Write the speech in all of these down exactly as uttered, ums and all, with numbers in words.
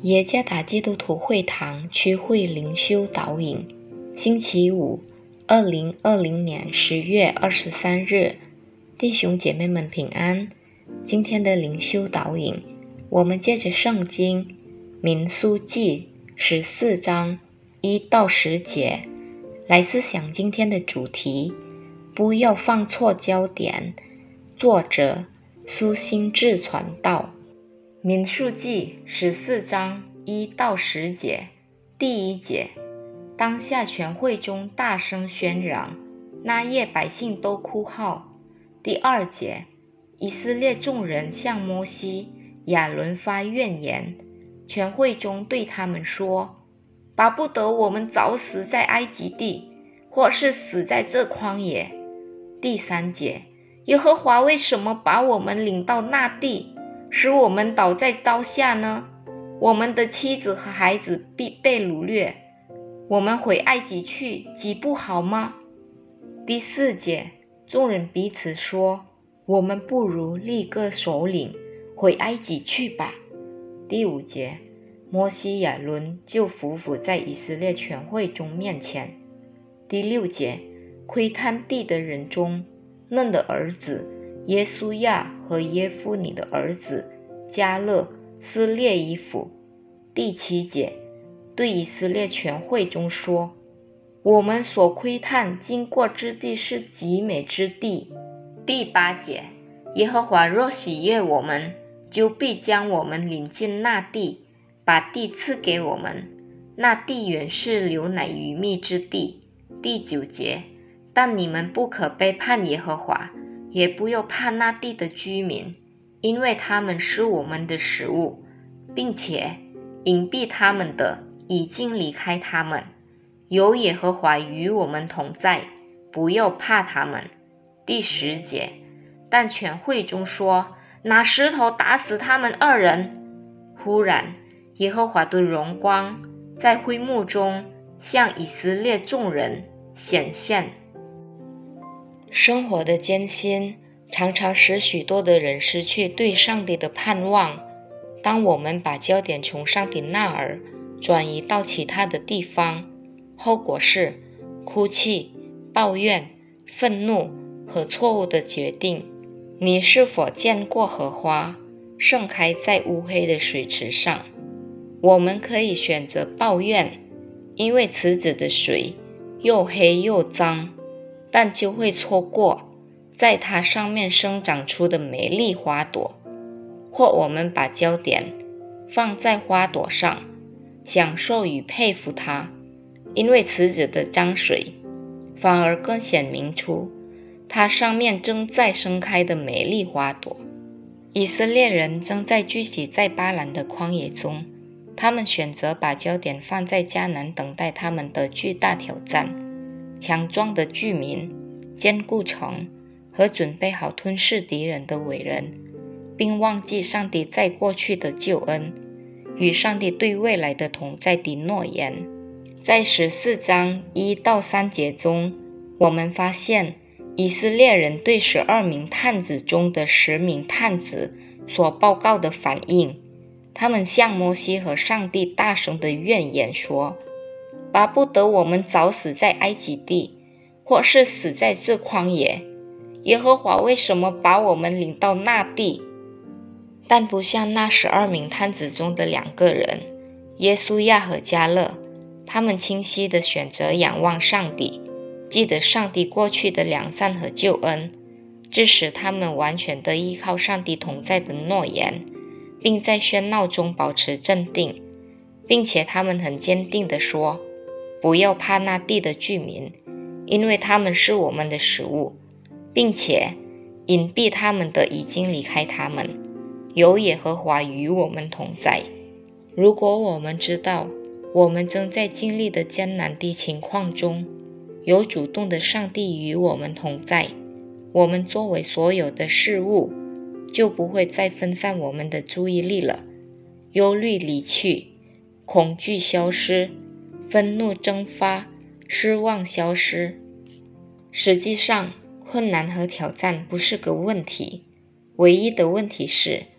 耶加达基督徒会堂区会灵修导引，星期五，二零二零年十月二十三日，弟兄姐妹们平安。今天的灵修导引，我们借着圣经民数记十四章一到十节来思想今天的主题，不要放错焦点。作者苏心志传道。民数记十四章一到十节，第一节，当下全会中大声喧嚷，那夜百姓都哭号。第二节，以色列众人向摩西、亚伦发怨言，全会中对他们说，巴不得我们早死在埃及地，或是死在这旷野。第三节，耶和华为什么把我们领到那地，使我们倒在刀下呢？我们的妻子和孩子必被掳掠，我们回埃及去，岂不好吗？第四节，众人彼此说，我们不如立个首领，回埃及去吧。第五节，摩西亚伦就匍匐在以色列全会众面前。第六节，窥探地的人中，嫩的儿子耶稣亚和耶夫尼的儿子迦勒撕裂衣服。第七节，对以色列全会中说，我们所窥探经过之地是极美之地。第八节，耶和华若喜悦我们，就必将我们领进那地，把地赐给我们，那地原是流奶与蜜之地。第九节，但你们不可背叛耶和华，也不要怕那地的居民，因为他们是我们的食物，并且隐蔽他们的已经离开他们。有耶和华与我们同在，不要怕他们。第十节，但全会中说，拿石头打死他们二人。忽然耶和华的荣光在会幕中向以色列众人显现。生活的艰辛常常使许多的人失去对上帝的盼望。当我们把焦点从上帝那儿转移到其他的地方，后果是哭泣、抱怨、愤怒和错误的决定。你是否见过荷花盛开在乌黑的水池上？我们可以选择抱怨，因为池子的水又黑又脏，但就会错过在它上面生长出的美丽花朵。或我们把焦点放在花朵上，享受与佩服它，因为池子的脏水反而更显明出它上面正在盛开的美丽花朵。以色列人正在聚集在巴兰的旷野中，他们选择把焦点放在迦南等待他们的巨大挑战，强壮的居民、坚固城和准备好吞噬敌人的伟人，并忘记上帝在过去的救恩与上帝对未来的同在的诺言。在十四章一到三节中，我们发现以色列人对十二名探子中的十名探子所报告的反应。他们向摩西和上帝大声的怨言说，巴不得我们早死在埃及地，或是死在这旷野。耶和华为什么把我们领到那地？但不像那十二名探子中的两个人，耶稣亚和迦勒，他们清晰地选择仰望上帝，记得上帝过去的良善和救恩，致使他们完全地依靠上帝同在的诺言，并在喧闹中保持镇定，并且他们很坚定地说，不要怕那地的居民，因为他们是我们的食物，并且隐蔽他们的已经离开他们，有耶和华与我们同在。如果我们知道我们正在经历的艰难的情况中有主动的上帝与我们同在，我们作为所有的事物就不会再分散我们的注意力了。忧虑离去，恐惧消失，愤怒蒸发，失望消失。实际上，困难和挑战不是个问题，唯一的问题是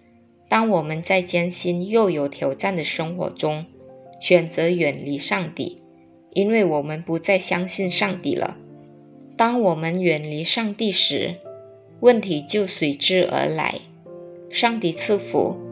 当我们在艰辛又有挑战的生活中选择远离上帝，因为我们不再相信上帝了。当我们远离上帝时，问题就随之而来。上帝赐福。